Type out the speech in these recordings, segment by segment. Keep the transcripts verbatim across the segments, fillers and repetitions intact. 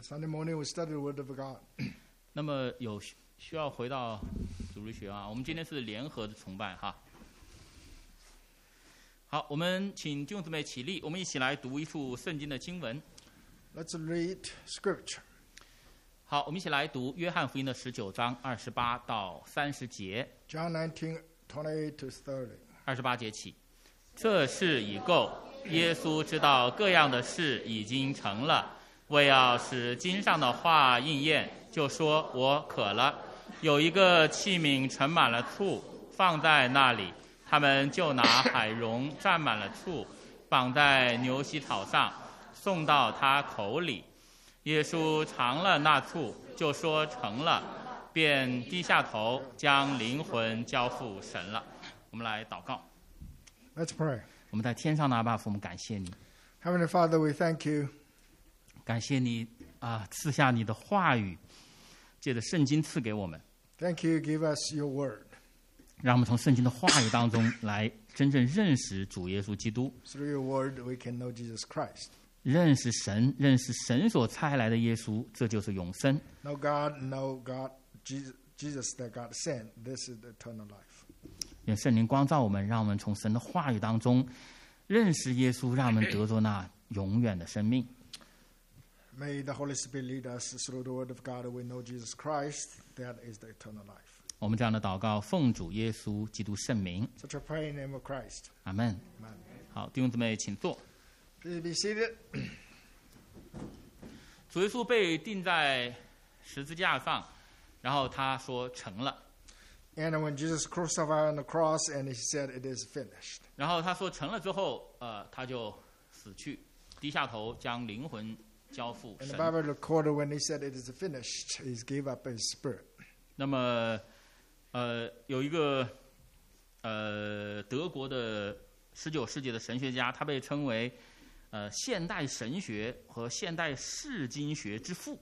Sunday morning we study the Word of God. 那么有需要回到主日学啊，我们今天是联合的崇拜哈。好，我们请弟兄姊妹起立，我们一起来读一处圣经的经文。 Let's read Scripture. 好，我们一起来读约翰福音的十九章二十八到三十节。 John nineteen, twenty-eight to thirty. 二十八节起，这事已够。耶稣知道各样的事已经成了，为要使经上的话应验，就说：“我渴了。”有一个器皿盛满了醋，放在那里，他们就拿海蓉蘸满了醋，绑在牛膝草上，送到他口里。耶稣尝了那醋，就说：“成了。”便低下头，将灵魂交付神了。我们来祷告。 Let's pray. 我们在天上的阿爸父，我们感谢你， Heavenly Father, we thank you. 感谢你啊，赐下你的话语，借着圣经赐给我们， Thank you, give us your word. 让我们从圣经的话语当中来真正认识主耶稣基督， Through your word, we can know Jesus Christ. 认识神，认识神所差来的耶稣，这就是永生。 Know God, know God, Jesus, Jesus that God sent. This is the eternal life. 愿圣灵光照我们，让我们从神的话语当中认识耶稣，让我们得着那永远的生命。 May the Holy Spirit lead us through the word of God. We know Jesus Christ. That is the eternal life. 我们这样的祷告，奉主耶稣基督圣名， Such a prayer in the name of Christ. 阿门。 Amen. 好，弟兄姊妹，请坐。 Please be seated. 主耶稣被钉在十字架上，然后他说成了。 And when Jesus crucified on the cross, and he said, "It is finished." 然后他说成了之后，呃，他就死去，低下头将灵魂交付 And the 神。 Bible recorded when he said, "It is finished," he gave up his spirit. 那么，呃，有一个呃德国的十九世纪的神学家，他被称为呃现代神学和现代释经学之父。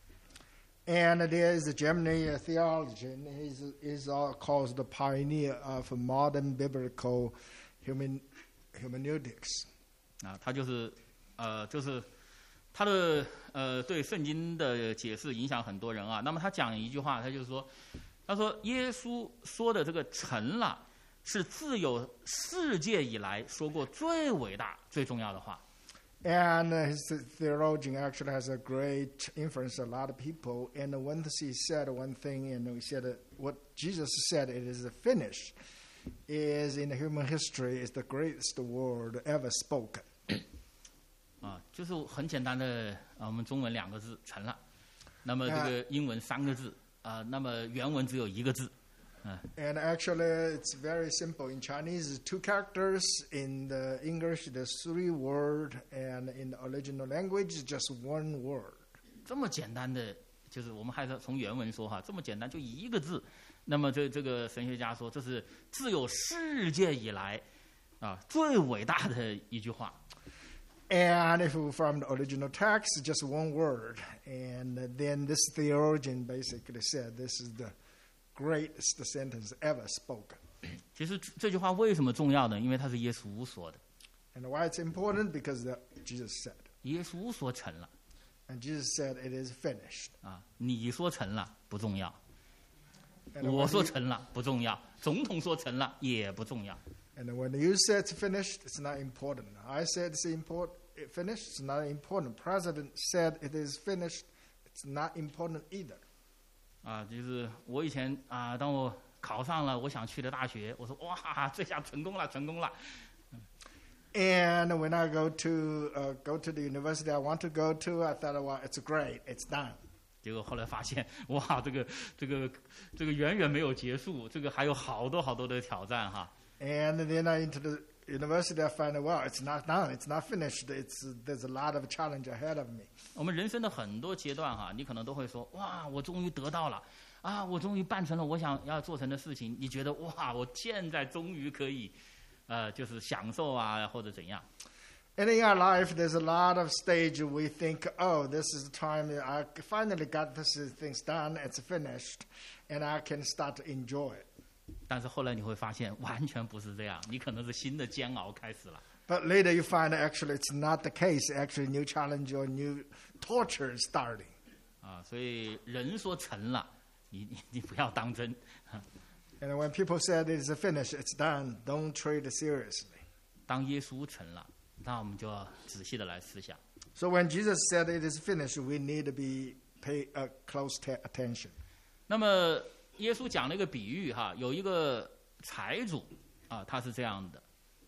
And there is a German theologian. He's, he's all called the pioneer of modern biblical human, hermeneutics. 啊，他就是呃就是他的呃对圣经的解释影响很多人啊。那么他讲一句话，他就是说，他说耶稣说的这个成了，是自有世界以来说过最伟大、最重要的话。 And his theologian actually has a great influence on a lot of people. And when he said one thing, and he said that what Jesus said, "It is finished," is in human history is the greatest word ever spoken. 啊，就是很简单的啊，我们中文两个字成了，那么这个英文三个字啊，那么原文只有一个字。 And actually, it's very simple. In Chinese, two characters. In the English, there's three words. And in the original language, just one word. 这么简单的，就是我们还是从原文说哈，这么简单就一个字。那么这这个神学家说，这是自有世界以来啊最伟大的一句话。 And if from the original text, just one word. And then this theologian basically said, this is the greatest sentence ever spoken. 其实这句话为什么重要呢？因为它是耶稣说的， And why it's important? Because the, Jesus said. 耶稣说成了 And Jesus said, "It is finished." 啊，你说成了不重要， And 我 when, 说 you, 成了不重要，总统说成了也不重要。 and when you said it's finished, it's not important. I said it's important, it finished, it's not important. President said it is finished, it's not important either. 啊，就是我以前啊，当我考上了我想去的大学，我说哇，这下成功了，成功了。 And when I go to uh, go to the university I want to go to, I thought, well, it's great, it's done. 结果后来发现，哇，这个这个这个远远没有结束，这个还有好多好多的挑战哈。 And then I into the university, I find out, well, it's not done, it's not finished. It's there's a lot of challenge ahead of me. 我们人生的很多阶段哈，你可能都会说，哇，我终于得到了，啊，我终于办成了我想要做成的事情。你觉得哇，我现在终于可以，呃，就是享受啊，或者怎样？ And in our life, there's a lot of stage we think, oh, this is the time I finally got this things done, it's finished, and I can start to enjoy it. 但是后来你会发现，完全不是这样，你可能是新的煎熬开始了。 But later you find actually it's not the case. Actually, new challenge or new torture is starting. 啊，所以人说成了，你你你不要当真。 And when people said it's finished, it's done, don't treat it seriously. 当耶稣成了，那我们就要仔细的来思想。 So when Jesus said it is finished, we need to be pay a close t- attention. 那么耶稣讲了一个比喻哈，有一个财主啊，他是这样的。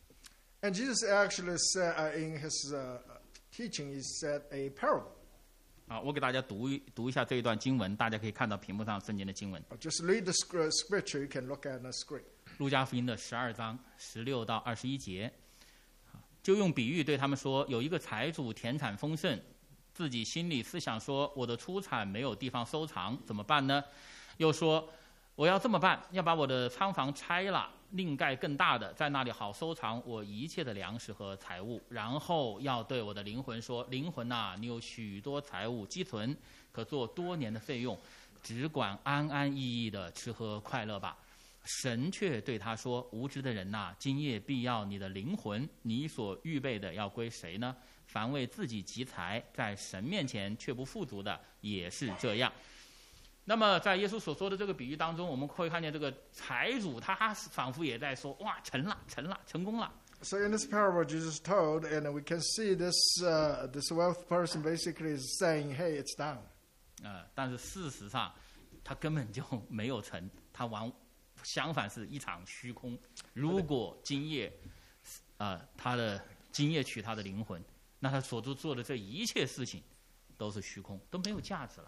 And Jesus actually said uh, in his uh, teaching, he said a parable. 啊，我给大家读一读一下这一段经文，大家可以看到屏幕上圣经的经文。 Just read the scripture, you can look at the screen. 路加福音的十二章十六到二十一节，就用比喻对他们说：有一个财主田产丰盛，自己心里思想说：我的出产没有地方收藏，怎么办呢？又说：我要这么办，要把我的仓房拆了，另盖更大的，在那里好收藏我一切的粮食和财物。然后要对我的灵魂说：灵魂啊，你有许多财物积存，可做多年的费用，只管安安逸逸的吃喝快乐吧。神却对他说：无知的人呐、啊，今夜必要你的灵魂，你所预备的要归谁呢？凡为自己积财，在神面前却不富足的，也是这样。那么在耶稣所说的这个比喻当中，我们会看见这个财主他仿佛也在说：哇，成了，成了，成功了。 So in this parable Jesus told, and we can see this uh, this wealth person basically is saying, "Hey, it's done." 呃，但是事实上，他根本就没有成，他完相反是一场虚空。如果今夜，呃，他的今夜取他的灵魂，那他所做的这一切事情都是虚空，都没有价值了。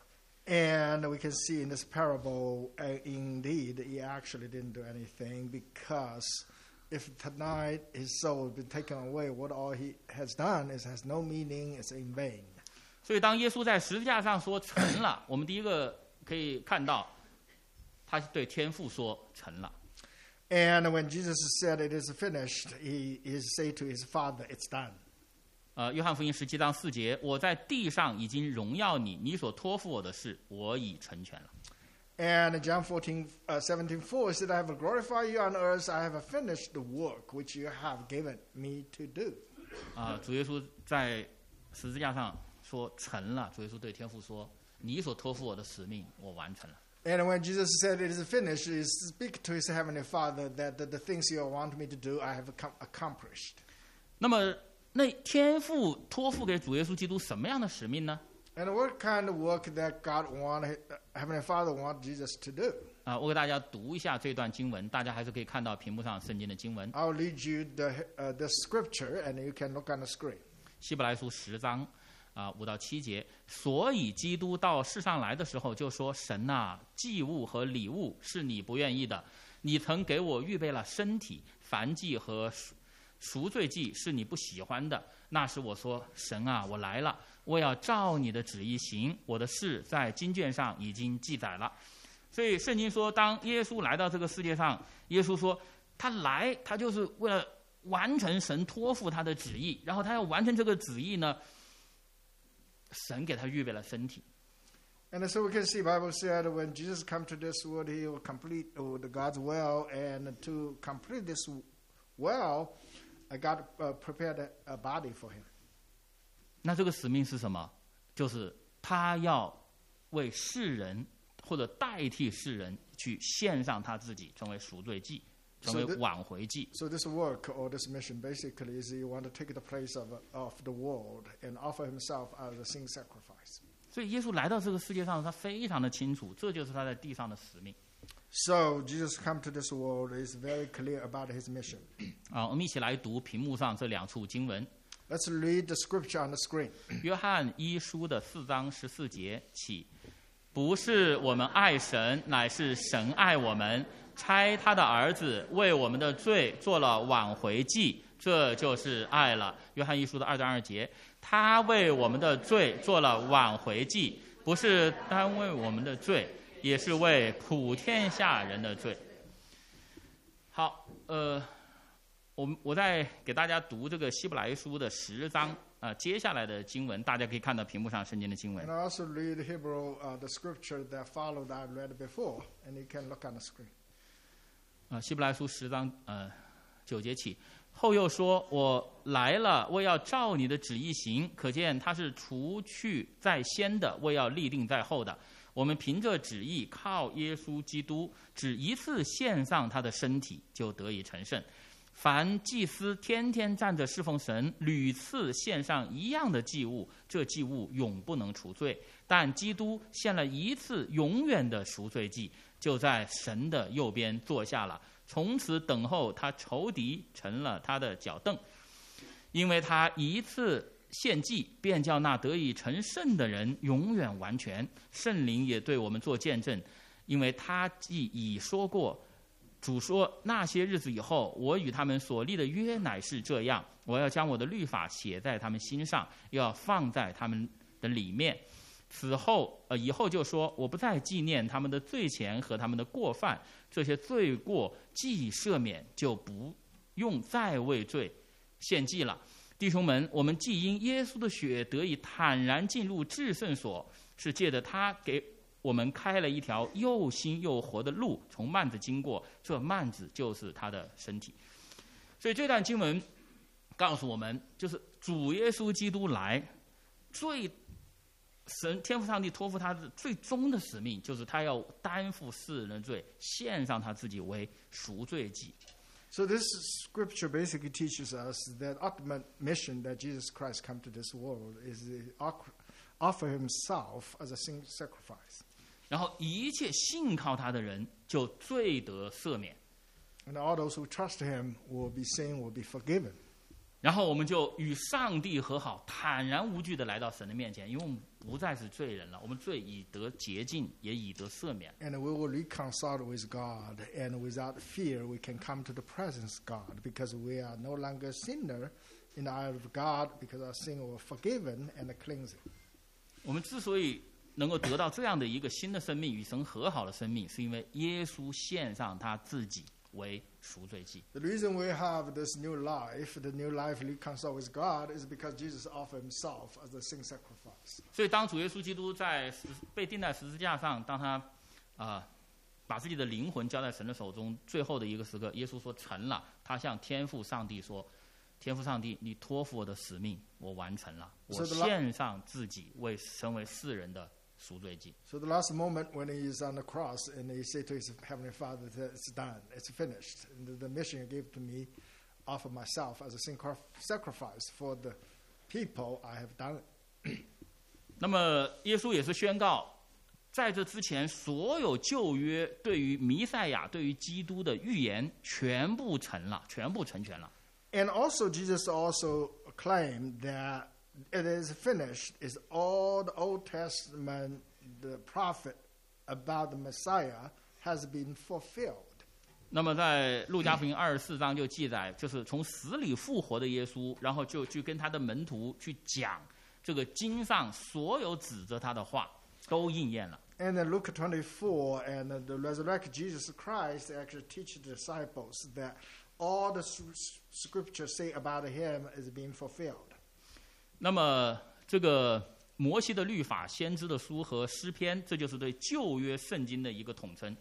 And we can see in this parable, uh, indeed, he actually didn't do anything because if tonight his soul has been taken away, what all he has done is has no meaning, it's in vain. 所以，当耶稣在十字架上说成了，我们第一个可以看到，他对天父说成了。 And when Jesus said it is finished, he is say to his father, "It's done." 呃，约翰福音十七章四节，我在地上已经荣耀你，你所托付我的事，我已成全了。 And John fourteen, uh, seventeen, four said, "I have glorified you on earth. I have finished the work which you have given me to do." 啊、主耶稣在十字架上说成了。主耶稣对天父说：“你所托付我的使命，我完成了。” And when Jesus said it is finished, he speak to his heavenly Father that the, the things you want me to do, I have ac- accomplished. 那么，那天父托付给主耶稣基督什么样的使命呢？ And what kind of work that God want, heavenly Father want Jesus to do? 啊、我给大家读一下这段经文，大家还是可以看到屏幕上圣经的经文。 I'll lead you the uh, the scripture, and you can look on the screen. 希伯来书十章啊五到七节，所以基督到世上来的时候就说：“神啊，祭物和礼物是你不愿意的，你曾给我预备了身体，燔祭和赎赎罪祭是你不喜欢的。那时我说：神啊，我来了，我要照你的旨意行，我的事在经卷上已经记载了。”所以圣经说，当耶稣来到这个世界上，耶稣说他来，他就是为了完成神托付他的旨意，然后他要完成这个旨意呢，神给他预备了身体。 And so we can see Bible said when Jesus come to this world, he will complete uh, the God's will, and to complete this well, uh, God uh, prepared a, a body for him. 那这个使命是什么？就是他要为世人或者代替世人去献上他自己，成为赎罪祭，成为 So the- 挽回祭。 So this work or this mission basically is he want to take the place of, of the world and offer himself as a sin sacrifice. 所以耶稣来到这个世界上，他非常的清楚，这就是他在地上的使命。 So Jesus come to this world is very clear about his mission. 啊，我们一起来读屏幕上这两处经文。 Let's read the scripture on the screen. 约翰一书的四章十四节起，不是我们爱神，乃是神爱我们，差他的儿子为我们的罪做了挽回祭，这就是爱了。约翰一书的二章二节，他为我们的罪做了挽回祭，不是单为我们的罪，也是为普天下人的罪。好，呃。我们我在给大家读这个希伯来书的十章啊、呃，接下来的经文，大家可以看到屏幕上圣经的经文 And I also read Hebrew, uh, the scripture that followed I read before, and you can look on the screen. 啊、呃，希伯来书十章呃九节起， 后又说：“我来了，为要照你的旨意行。”可见他是除去在先的，为要立定在后的。我们凭着旨意，靠耶稣基督，只一次献上他的身体，就得以成圣。凡祭司天天站着侍奉神，屡次献上一样的祭物，这祭物永不能除罪。但基督献了一次永远的赎罪祭，就在神的右边坐下了，从此等候他仇敌成了他的脚凳。因为他一次献祭，便叫那得以成圣的人永远完全。圣灵也对我们做见证，因为他既已说过，主说：“那些日子以后，我与他们所立的约乃是这样，我要将我的律法写在他们心上，又要放在他们的里面。此后，呃，以后就说，我不再纪念他们的罪愆和他们的过犯，这些罪过既赦免，就不用再为罪献祭了。弟兄们，我们既因耶稣的血得以坦然进入至圣所，是借着他给我们开了一条又新又活的路，从幔子经过，这幔子就是他的身体。”所以这段经文告诉我们，就是主耶稣基督来，最神天父上帝托付他的最终的使命，就是他要担负世人的罪，献上他自己为赎罪祭。 So this scripture basically teaches us that ultimate mission that Jesus Christ come to this world is to offer himself as a sin sacrifice. 然后一切信靠他的人就罪得赦免。 And all those who trust him will be sin, will be forgiven. 然后我们就与上帝和好，坦然无惧地来到神的面前，因为我们不再是罪人了，我们罪已得洁净，也已得赦免。 And we will reconcile with God, and without fear we can come to the presence of God, because we are no longer sinner in the eye of God, because our sin was forgiven and cleansed. 我们之所以能够得到这样的一个新的生命，与神和好的生命，是因为耶稣献上他自己为赎罪祭。 The reason we have this new life, the new life reconciled with God, is because Jesus offered himself as a sin sacrifice. 所以当主耶稣基督在被钉在十字架上，当他啊、呃、把自己的灵魂交在神的手中，最后的一个时刻，耶稣说成了。他向天父上帝说：“天父上帝，你托付我的使命，我完成了，我献上自己为成为世人的赎罪祭。” So the last moment when he is on the cross and he said to his heavenly Father that it's done, it's finished. And the mission you gave to me, offer myself as a sin sacrifice for the people, I have done it. 那么耶稣也是宣告，在这之前，所有旧约对于弥赛亚、对于基督的预言全部成了，全部成全了。 And also Jesus also claimed that it is finished, is all the Old Testament, the prophet about the Messiah has been fulfilled. 那么在路加福音二十四章就记载，就是从死里复活的耶稣，然后就去跟他的门徒去讲这个经上所有指着他的话都应验了。 And in Luke twenty-four, and the resurrected Jesus Christ actually teach the disciples that all the scriptures say about him is being fulfilled. 那么这个摩西的律法、先知的书和诗篇，这就是对旧约圣经的一个统称。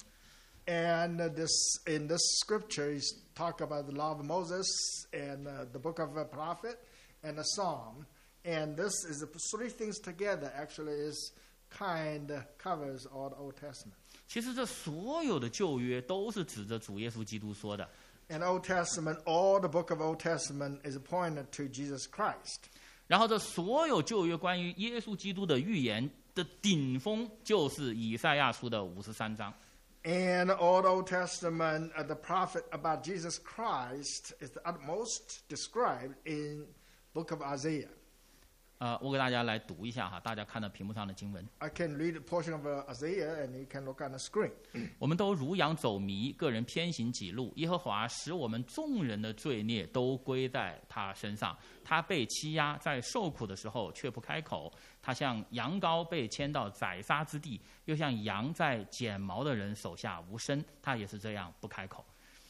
And this in this scripture is talk about the law of Moses and uh, the book of a prophet and the psalm. And this is the three things together actually is kind of covers all the Old Testament. 其实这所有的旧约都是指着主耶稣基督说的。 In Old Testament, all the book of Old Testament is pointed to Jesus Christ. 然后这所有旧约关于耶稣基督的预言的顶峰，就是以赛亚书的五十三章。 And all the Old Testament, uh, the prophet about Jesus Christ is the utmost described in book of Isaiah. 呃，我给大家来读一下哈，大家看到屏幕上的经文。 I can read a portion of uh, Isaiah, and you can look on the screen. 我们都如羊走迷，个人偏行己路。耶和华使我们众人的罪孽都归在他身上。他被欺压，在受苦的时候却不开口。他像羊羔被牵到宰杀之地，又像羊在剪毛的人手下无声。他也是这样不开口。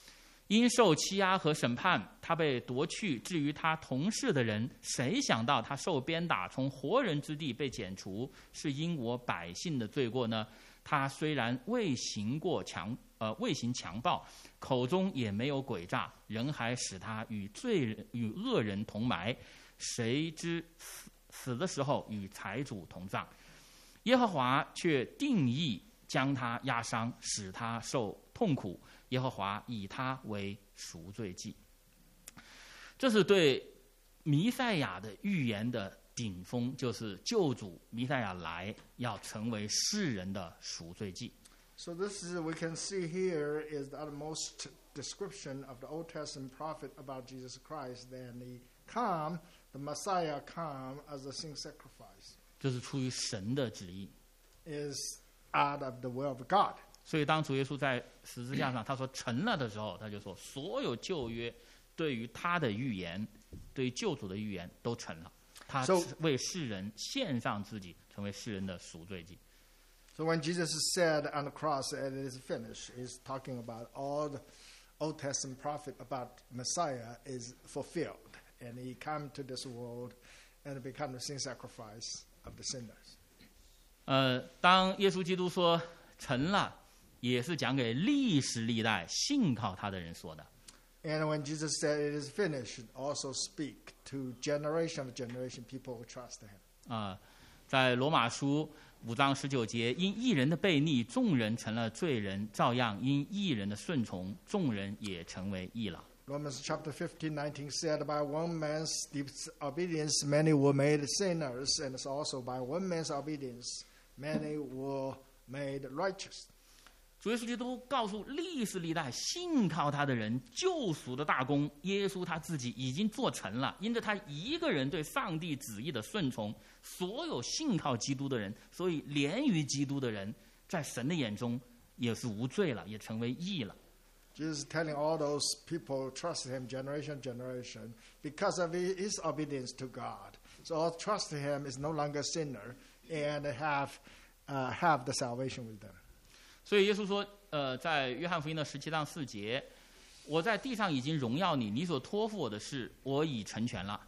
因受欺压和审判，他被夺去至于他同事的人，谁想到他受鞭打，从活人之地被剪除，是因我百姓的罪过呢？他虽然未行过强呃未行强暴，口中也没有诡诈，人还使他与罪人与恶人同埋，谁知死死的时候与财主同葬。耶和华却定义将他压伤，使他受痛苦。耶和华以他为赎罪祭。这是对弥赛亚的预言的顶峰，就是救主弥赛亚来要成为世人的赎罪祭。 So this is, we can see here is the utmost description of the Old Testament prophet about Jesus Christ. Then he come, the Messiah come as a sin sacrifice. 这是出于神的旨意， Is out of the will of God. 所以当主耶稣在十字架上他说成了的时候，他就说所有旧约对于他的预言，对于救主的预言都成了。他 So- 为世人献上自己，成为世人的赎罪祭。 So when Jesus said on the cross, it is finished, he's talking about all the Old Testament prophet about Messiah is fulfilled. And he come to this world and become the sin sacrifice of the sinners. 呃，当耶稣基督说成了，也是讲给历史历代信靠他的人说的。 And when Jesus said it is finished, it also speak to generation of generation people who trust him. 啊、在罗马书五章十九节，因一人的悖逆，众人成了罪人；照样因一人的顺从，众人也成为义了。 Romans chapter fifteen, nineteen said, by one man's disobedience, many were made sinners, and it's also by one man's obedience, many were made righteous. 主耶稣基督告诉历史历代信靠他的人，救赎的大功，耶稣他自己已经做成了。因着他一个人对上帝旨意的顺从，所有信靠基督的人，所以连于基督的人，在神的眼中也是无罪了，也成为义了。 Jesus is telling all those people who trust him generation generation because of his obedience to God. So all trust him is no longer sinner and have uh, have the salvation with them. 所以耶稣说，呃，在约翰福音的十七章四节，我在地上已经荣耀你，你所托付我的事，我已成全了。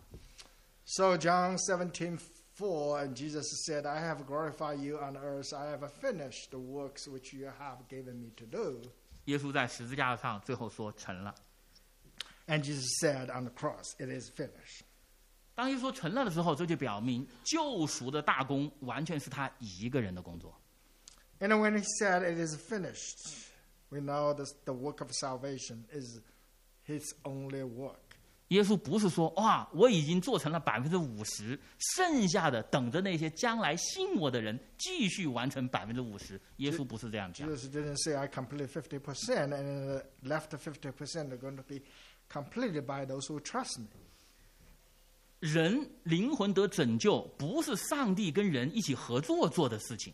So John seventeen four, and Jesus said, I have glorified you on earth. I have finished the works which you have given me to do. 耶稣在十字架上最后说成了。 And Jesus said on the cross, it is finished. 当耶稣说成了的时候，这就表明救赎的大功完全是他一个人的工作。 And when he said it is finished, we know that the work of salvation is his only work. 耶稣不是说哇，我已经做成了百分之五十，剩下的等着那些将来信我的人继续完成百分之五十。耶稣不是这样讲。 Jesus didn't say I completed fifty percent and the left fifty percent are going to be completed by those who trust me. 人灵魂得拯救，不是上帝跟人一起合作做的事情。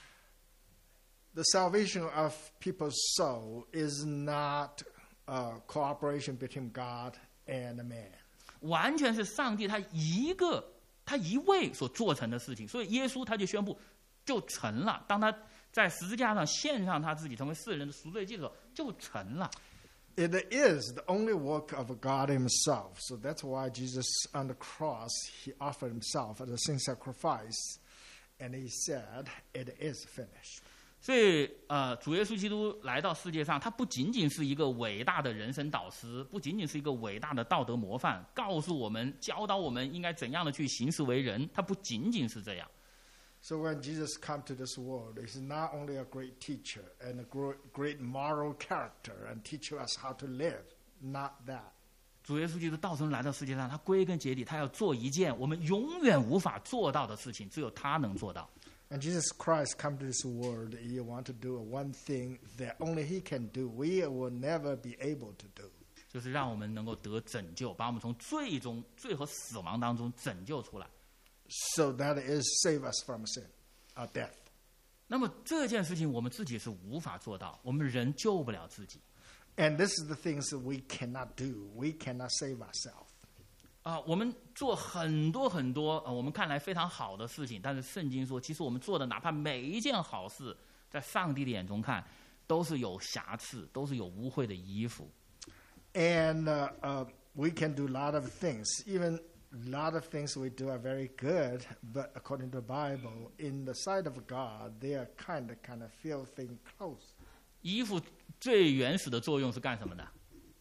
The salvation of people's soul is not a cooperation between God and man. 完全是上帝他一个他一位所做成的事情，所以耶稣他就宣布就成了。当他在十字架上献上他自己成为世人的赎罪祭的时候，就成了。 It is the only work of God himself. So that's why Jesus on the cross, he offered himself as a sin sacrifice. And he said, it is finished. 所以，呃，主耶稣基督来到世界上，他不仅仅是一个伟大的人生导师，不仅仅是一个伟大的道德模范，告诉我们、教导我们应该怎样的去行事为人。他不仅仅是这样。 So when Jesus come to this world, he's not only a great teacher and a gro- great moral character and teach us how to live. Not that. 主耶稣基督道成来到世界上，他归根结底，他要做一件我们永远无法做到的事情，只有他能做到。 And Jesus Christ come to this world, he want to do one thing that only he can do. We will never be able to do. 就是让我们能够得拯救，把我们从最终、罪和死亡当中拯救出来。 So that is save us from sin, or death. 那么这件事情我们自己是无法做到，我们人救不了自己。 And this is the things that we cannot do. We cannot save ourselves. 啊，我们做很多很多，呃，我们看来非常好的事情，但是圣经说，其实我们做的哪怕每一件好事，在上帝的眼中看，都是有瑕疵，都是有污秽的衣服。 And uh, uh, we can do a lot of things. Even a lot of things we do are very good, but according to the Bible, in the sight of God, they are kind of, kind of filthy clothes. 衣服最原始的作用是干什么的？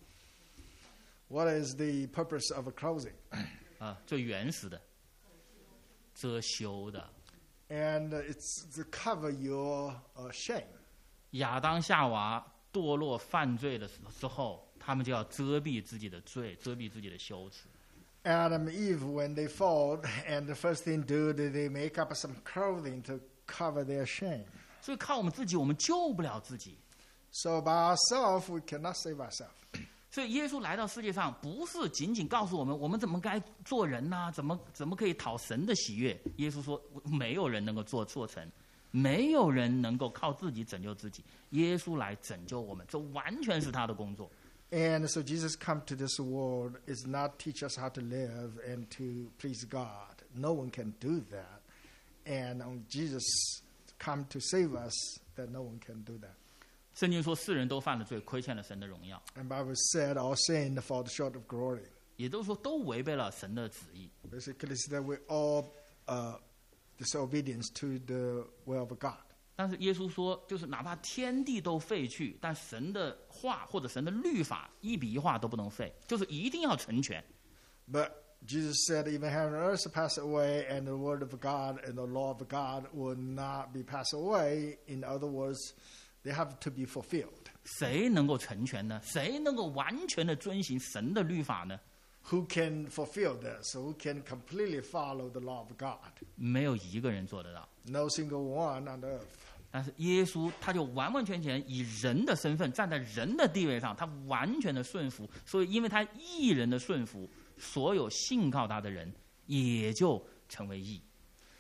What is the purpose of a clothing? 啊，最原始的，遮羞的。 And uh, it's to cover your uh, shame. 亚当夏娃堕落犯罪的时候，他们就要遮蔽自己的罪，遮蔽自己的羞耻。 Adam and Eve, when they fall, and the first thing do, they make up some clothing to cover their shame. 所以靠我们自己，我们救不了自己。 So by ourselves, we cannot save ourselves. 所以耶稣来到世界上，不是仅仅告诉我们我们怎么该做人呐、啊，怎么怎么可以讨神的喜悦。耶稣说，没有人能够做做成，没有人能够靠自己拯救自己。耶稣来拯救我们，这完全是他的工作。 And so Jesus come to this world is not teach us how to live and to please God. No one can do that. And um, Jesus come to save us, that no one can do that. 圣经说，世人都犯了罪，亏欠了神的荣耀。 And Bible said, all sin fall short of glory. 也就是说，都违背了神的旨意。 Basically, it's that we all uh, disobedience to the will of God. 但是耶稣说，就是哪怕天地都废去，但神的话或者神的律法一笔一画都不能废，就是一定要成全。 But Jesus said, even heaven and earth pass away, and the word of God and the law of God will not be passed away. In other words, they have to be fulfilled. 谁能够成全呢？谁能够完全的遵行神的律法呢？ Who can fulfill this? Who can completely follow the law of God? 没有一个人做得到。 No single one on earth. 但是耶稣他就完完全全以人的身份站在人的地位上，他完全的顺服。所以因为他义人的顺服，所有信靠他的人也就成为义。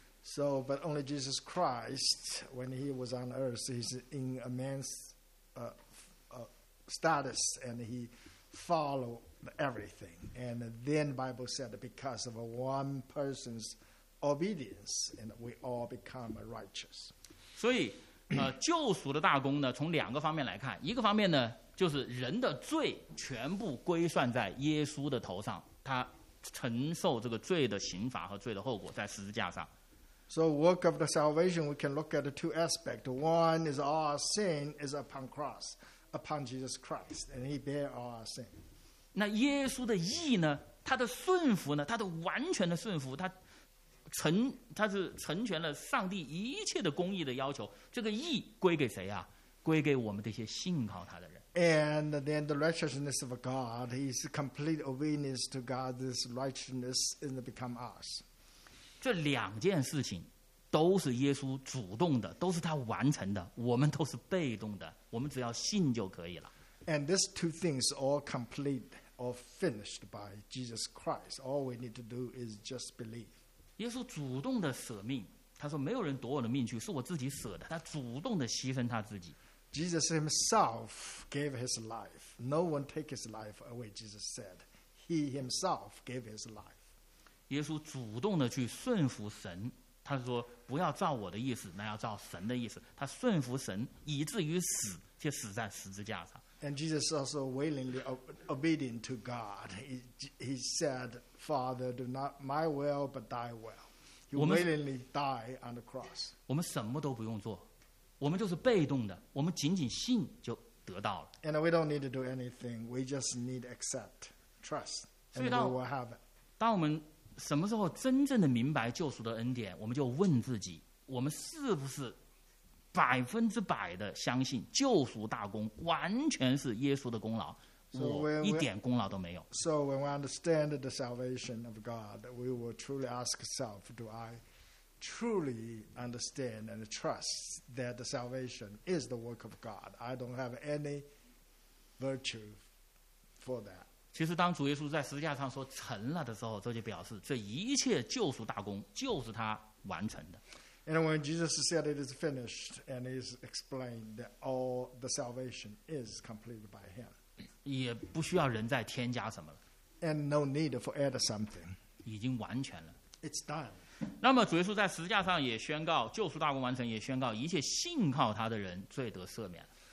So, but only Jesus Christ, when he was on earth, he's in a man's uh, uh, status, and he followed everything. And then Bible said, because of one person's obedience, and we all become righteous. 所以，呃，救赎的大功呢，从两个方面来看，一个方面呢，就是人的罪全部归算在耶稣的头上，他承受这个罪的刑罚和罪的后果，在十字架上。 So, work of the salvation, we can look at the two aspects. One is all our sin is upon cross, upon Jesus Christ, and he bear all our sin. 那耶稣的义呢，他的顺服呢，他的完全的顺服，他成他是成全了上帝一切的公义的要求。这个义归给谁啊？归给我们这些信靠他的人。 And then the righteousness of God, his complete obedience to God, this righteousness is become ours. 这两件事情都是耶稣主动的，都是他完成的，我们都是被动的，我们只要信就可以了。 And these two things all complete or finished by Jesus Christ. All we need to do is just believe. 耶稣主动的舍命，他说没有人夺我的命去，是我自己舍的，他主动的牺牲他自己。 Jesus himself gave his life. No one take his life away, Jesus said. He himself gave his life. 耶稣主动的去顺服神，他说不要照我的意思，那要照神的意思。他顺服神，以至于死，就死在十字架上。 And Jesus also willingly obedient to God. He, he said, Father, do not my will, but thy will. He willingly died on the cross. 我们什么都不用做，我们就是被动的，我们仅仅信就得到了。 And we don't need to do anything. We just need to accept, trust, and we will have it. 当我们什么时候真正的明白救赎的恩典，我们就问自己：我们是不是百分之百的相信救赎大功完全是耶稣的功劳？ So 我一点功劳都没有。 So when we understand the salvation of God, we will truly ask ourselves: Do I truly understand and trust that the salvation is the work of God? I don't have any virtue for that. 其实，当主耶稣在十字架上说成了的时候，这就表示这一切救赎大功就是他完成的。 And when Jesus said it is finished, and is explained that all the salvation is completed by Him, 也不需要人再添加什么了， and no need for add something. 已经完全了。 It's done. 那么主耶稣在十字架上也宣告救赎大功完成，也宣告一切信靠他的人罪得赦免。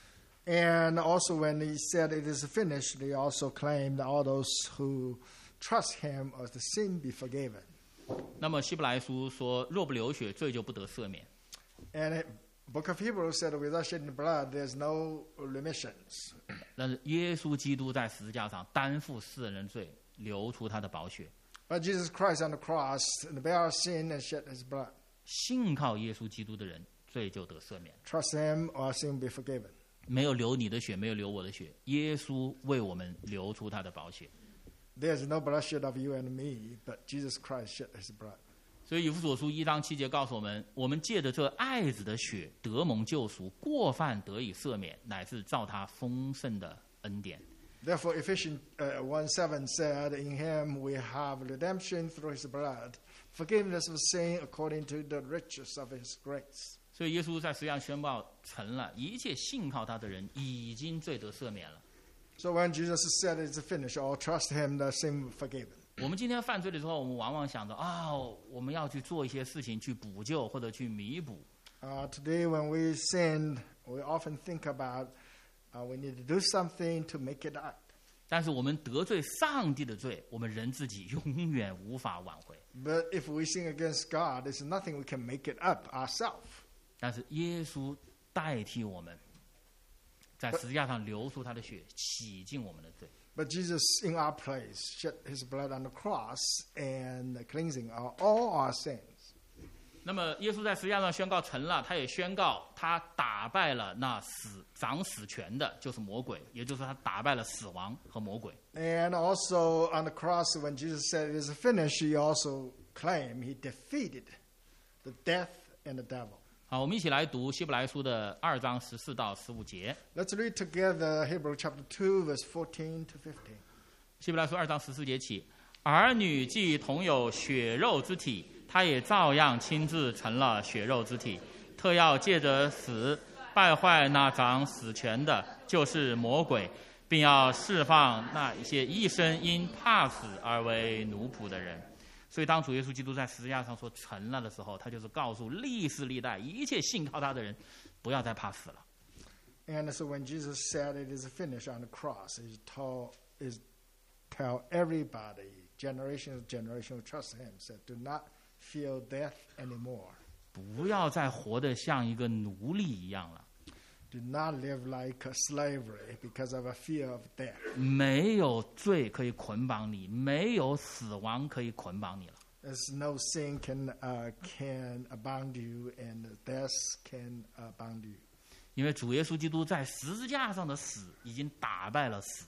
And also when he said it is finished, he also claimed all those who trust him of the sin be forgiven. 那么希伯来书说，若不流血，罪就不得赦免。 And it, Book of Hebrews said, without shedding blood, there's no remissions. 但是耶稣基督在十字架上担负世人的罪，流出他的宝血。 But Jesus Christ on the cross bear our sin and shed his blood. 信靠耶稣基督的人，罪就得赦免。 Trust him or sin be forgiven. 没有流你的血，没有流我的血，耶稣为我们流出他的宝血。 There's no bloodshed of you and me, but Jesus Christ shed his blood. 所以以弗所书一章七节告诉我们，我们借着这爱子的血得蒙救赎，过犯得以赦免，乃是照他丰盛的恩典。 Therefore, Ephesians uh, one seven said, in him we have redemption through his blood, forgiveness of sin according to the riches of his grace. 所以耶稣在十字架宣告成了，一切信靠他的人已经罪得赦免了。 So when Jesus said it's finished, all trust him, the sin forgiven. 我们今天犯罪的时候，我们往往想着啊、哦，我们要去做一些事情去补救或者去弥补。 Uh, today when we sin, we often think about uh, we need to do something to make it up. 但是我们得罪上帝的罪，我们人自己永远无法挽回。 But if we sin against God, there's nothing we can make it up ourselves. 但是耶稣代替我们，在十字架上流出他的血，洗净我们的罪。 But Jesus, in our place, shed his blood on the cross and cleansing our, all our sins. 那么耶稣在十字架上宣告成了，他也宣告他打败了那死掌死权的，就是魔鬼，也就是他打败了死亡和魔鬼。 And also on the cross, when Jesus said it is finished, he also claimed he defeated the death and the devil. 好，我们一起来读希伯来书的二章十四到十五节。 Let's read together Hebrews chapter two, verse fourteen to fifteen. 希伯来书二章十四节起，儿女既同有血肉之体，他也照样亲自成了血肉之体，特要借着死败坏那掌死权的，就是魔鬼，并要释放那一些一生因怕死而为奴仆的人。所以当主耶稣基督在十字架上说成了的时候，他就是告诉历世历代一切信靠他的人，不要再怕死了。 And so when Jesus said it is finished on the cross, he told, is tell everybody, generation of generation who trust him, said, do not fear death anymore. 不要再活得像一个奴隶一样了。 Do not live like a slavery because of a fear of death. 没有罪可以捆绑你，没有死亡可以捆绑你了。 There's no sin can uh, can bound you, and death can uh, bound you. 因为主耶稣基督在十字架上的死已经打败了死。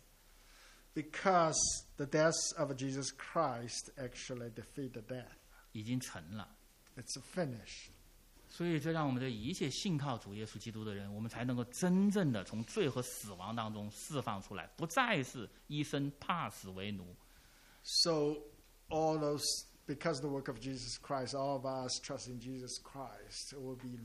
Because the death of Jesus Christ actually defeated death. 已经成了。 It's finished. 所以这让我们的一切信靠主耶稣基督的人，我们才能够真正的从罪和死亡当中释放出来，不再是一生怕死为奴。 So all those, because the work of Jesus Christ, all of us trust in Jesus Christ will be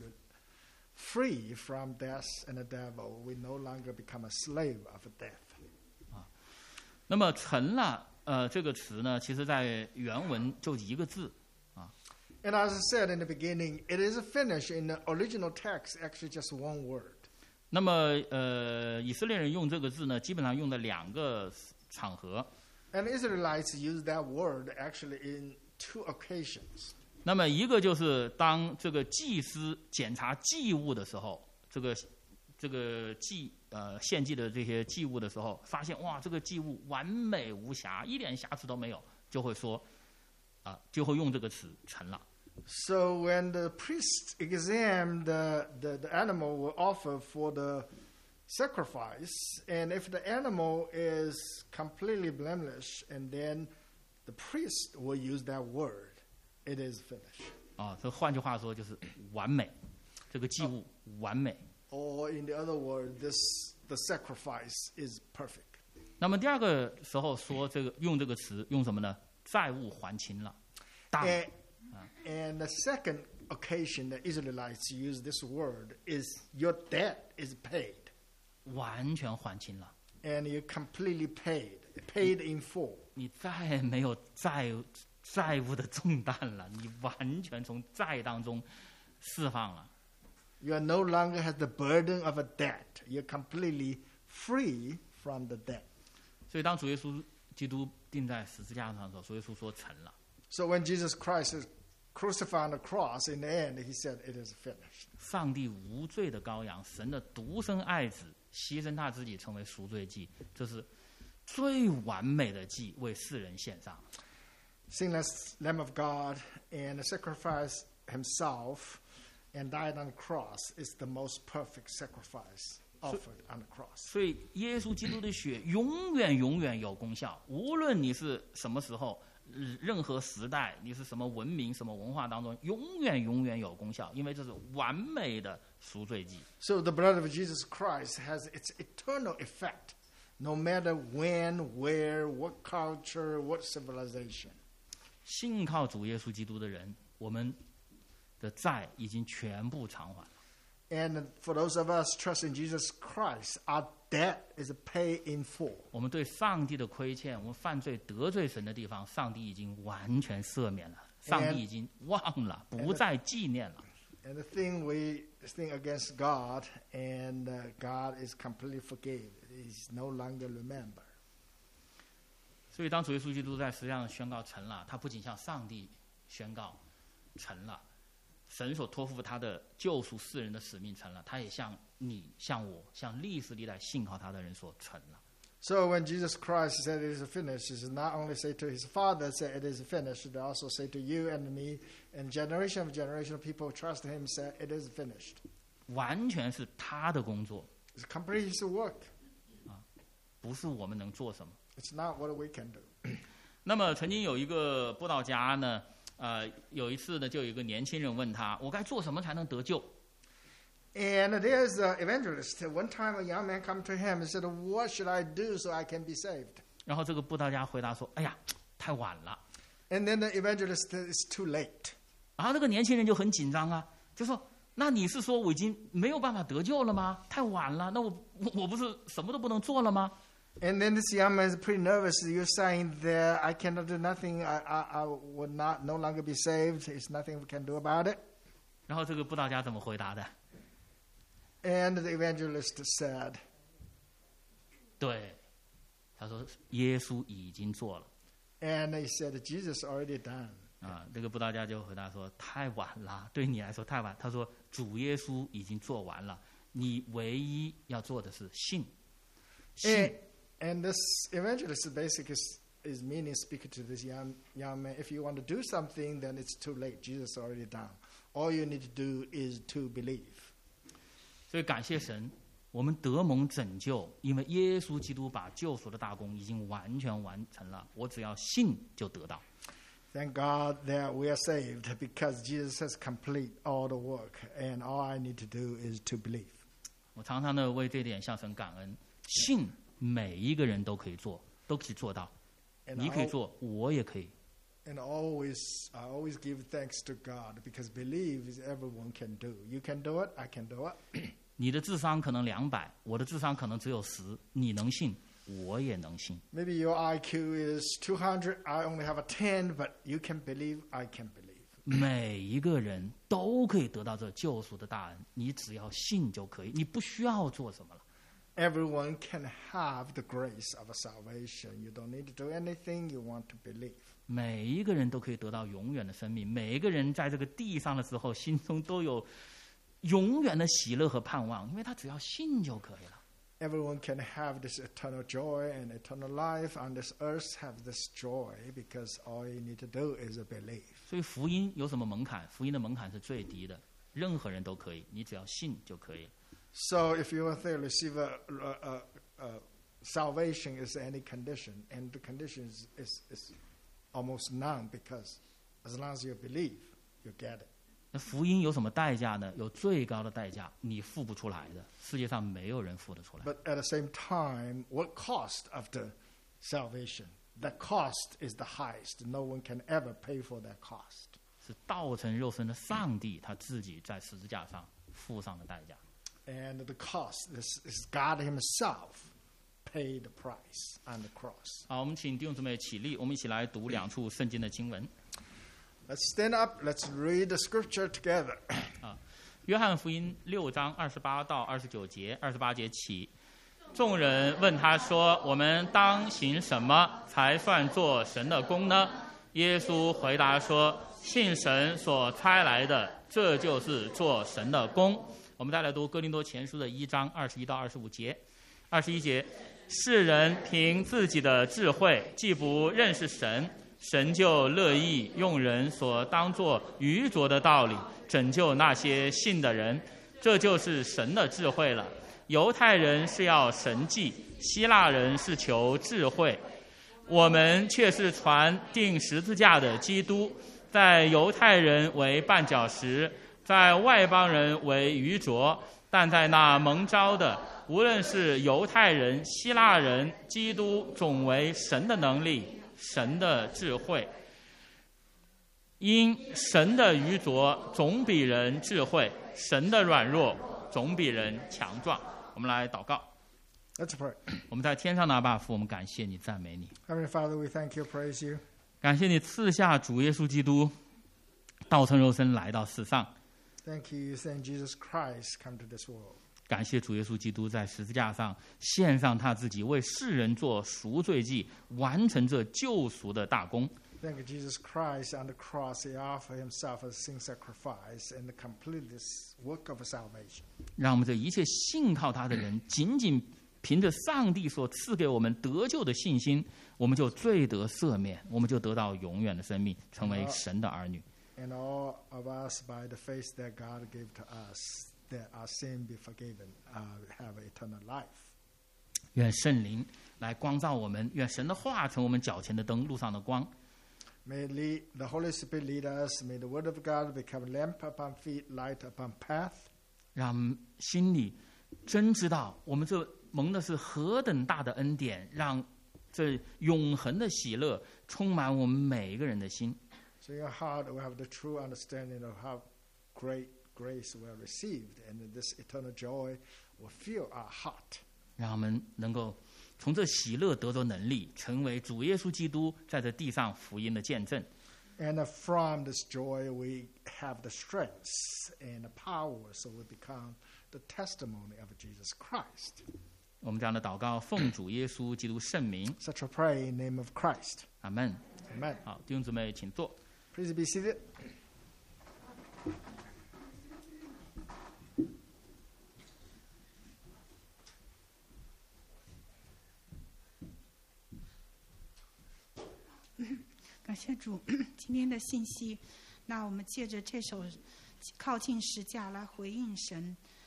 free from death and the devil. We no longer become a slave of death. 那么成了，呃，这个词呢，其实在原文就一个字。 And as I said in the beginning, it is finished. In the original text, actually just one word. 那么，呃，以色列人用这个字呢，基本上用的两个场合。 And Israelites use that word actually in two occasions. 那么，一个就是当这个祭司检查祭物的时候，这个这个祭呃献祭的这些祭物的时候，发现哇，这个祭物完美无瑕，一点瑕疵都没有，就会说啊、呃，就会用这个词成了。 So when the priest examined the, the, the animal will offer for the sacrifice, and if the animal is completely blameless, and then the priest will use that word, it is finished. 啊，这换句话说就是完美，这个祭物完美。 Or in the other word, this the sacrifice is perfect. 那么第二个时候说这个用这个词用什么呢？债务还清了。当 And, and the second occasion that Israelites use this word is your debt is paid. 完全还清了。 And you completely paid, paid in full. 你再没有债债务的重担了，你完全从债当中释放了。 You are no longer has the burden of a debt. You're completely free from the debt. 所以当主耶稣基督钉在十字架上的时候，主耶稣说成了。 So when Jesus Christ is crucified on the cross, in the end, he said, it is finished. 上帝无罪的羔羊，神的独生爱子，牺牲他自己成为赎罪祭，这是最完美的祭，为世人献上。 Sinless Lamb of God and sacrificed himself and died on the cross is the most perfect sacrifice offered on the cross. 所以耶稣基督的血永远永远有功效，无论你是什么时候、任何时代，你是什么文明、什么文化当中，永远永远有功效，因为这是完美的赎罪祭。 So the blood of Jesus Christ has its eternal effect, no matter when, where, what culture, what civilization. 信靠主耶稣基督的人，我们的债已经全部偿还了。 And for those of us trust in Jesus Christ, our debt is paid in full. 我们对上帝的亏欠，我们犯罪得罪神的地方，上帝已经完全赦免了，上帝已经忘了，不再纪念了。 And the thing we think against God, and uh, God is completely forgave. He's no longer remember. 所以当主耶稣基督在实际上宣告成了，他不仅向上帝宣告成了，神所托付他的救赎世人的使命成了，他也向你、向我、向历史历代信靠他的人所成了。 So when Jesus Christ said it is finished, he not only say to his Father, say it is finished, they also say to you and me, and generation of generation of people trust him, say it is finished. 完全是他的工作， It's complete his work. 不是我们能做什么。 It's not what we can do. 那么曾经有一个布道家呢，呃，有一次呢，就有一个年轻人问他：“我该做什么才能得救？” And there's an evangelist. One time a young man come to him and said, "What should I do so I can be saved?" 然后这个布道家回答说：“哎呀，太晚了。” And then the evangelist said, "It's too late." 然后这个年轻人就很紧张啊，就说：“那你是说我已经没有办法得救了吗？太晚了，那我我我不是什么都不能做了吗？” And then this young man is pretty nervous. You're saying that I cannot do nothing. I, I, I would not no longer be saved. There's nothing we can do about it. 然后这个布道家怎么回答的？ And the evangelist said, 对，他说耶稣已经做了。 and he said, Jesus already done. 啊，这个布道家就回答说：“太晚了，对你来说太晚。”他说：“主耶稣已经做完了，你唯一要做的是信。信 And, and this evangelist basically is, is meaning speaking to this young young man. If you want to do something, then it's too late. Jesus already done. All you need to do is to believe. 所以感谢神，我们得蒙拯救，因为耶稣基督把救赎的大功已经完全完成了。我只要信就得到。 Thank God that we are saved because Jesus has complete all the work, and all I need to do is to believe. 我常常的为这点向神感恩。信每一个人都可以做，都可以做到。 And 你可以 I, 做，我也可以。 and always, I always give thanks to God because believe is everyone can do. You can do it, I can do it. 你的智商可能两百，我的智商可能只有十，你能信，我也能信。 Maybe your I Q is two hundred, I only have a ten, but you can believe, I can believe. 每一个人都可以得到这救赎的大恩，你只要信就可以，你不需要做什么了。 Everyone can have the grace of salvation. You don't need to do anything, you want to believe. 每一个人都可以得到永远的生命，每一个人在这个地上的时候，心中都有永远的喜乐和盼望，因为他只要信就可以了。 Everyone can have this eternal joy and eternal life on this earth, have this joy because all you need to do is believe. 所以福音有什么门槛？福音的门槛是最低的，任何人都可以，你只要信就可以。 So if you want to receive a, a, a, a salvation is any condition, and the condition is, is, is almost none because as long as you believe, you get it. 那福音有什么代价呢？有最高的代价，你付不出来的，世界上没有人付得出来。 But at the same time, what cost of the salvation? The cost is the highest. No one can ever pay for that cost. 是道成肉身的上帝他自己在十字架上付上的代价。 And the cost is, is God Himself paid the price on the cross. 好，我们请弟兄姊妹起立，我们一起来读两处圣经的经文。 Let's stand up. Let's read the scripture together. 啊， 约翰福音六章二十八到二十九节，二十八节起，众人问他说：“我们当行什么才算做神的工呢？”耶稣回答说：“信神所差来的，这就是做神的工。”我们再来读哥林多前书的一章二十一到二十五节。二十一节，世人凭自己的智慧，既不认识神，神就乐意用人所当作愚拙的道理拯救那些信的人，这就是神的智慧了。犹太人是要神迹，希腊人是求智慧，我们却是传钉十字架的基督，在犹太人为绊脚石，在外邦人为愚拙，但在那蒙召的，无论是犹太人、希腊人，基督总为神的能力，神的智慧。因神的愚拙总比人智慧，神的软弱总比人强壮。我们来祷告。 Let's pray. 我们在天上的阿爸父，我们感谢你，赞美你。 Heavenly Father, we thank you, praise you. 感谢你赐下主耶稣基督，道成肉身来到世上。 Thank you, send Jesus Christ come to this world. 感谢主耶稣基督在十字架上献上他自己，为世人做赎罪祭，完成这救赎的大功。 Thank you, Jesus Christ on the cross. He offered himself as a sin sacrifice and completed this work of salvation. 让我们这一切信靠他的人，仅仅凭着上帝所赐给我们得救的信心，我们就罪得赦免，我们就得到永远的生命，成为神的儿女。 And all of us, by the faith that God gave to us, that our sin be forgiven, uh, have eternal life. 愿圣灵来光照我们，愿神的话成我们脚前的灯，路上的光。 May lead, the Holy Spirit lead us. May the Word of God become lamp upon feet, light upon path. 让我们心里真知道，我们这蒙的是何等大的恩典，让这永恒的喜乐充满我们每一个人的心。 So in your heart will have the true understanding of how great grace we have received, and this eternal joy will fill our heart. 让我们能够从这喜乐得着能力，成为主耶稣基督在这地上福音的见证。 And from this joy we have the strength and the power, so we become the testimony of Jesus Christ. 我们这样的祷告，奉主耶稣基督圣名。 Such a prayer in the name of Christ. 阿门。 Amen. 好，弟兄姊妹，请坐。 Please be seated. 感谢主今天的信息，那我们借着这首靠近十架来回应神。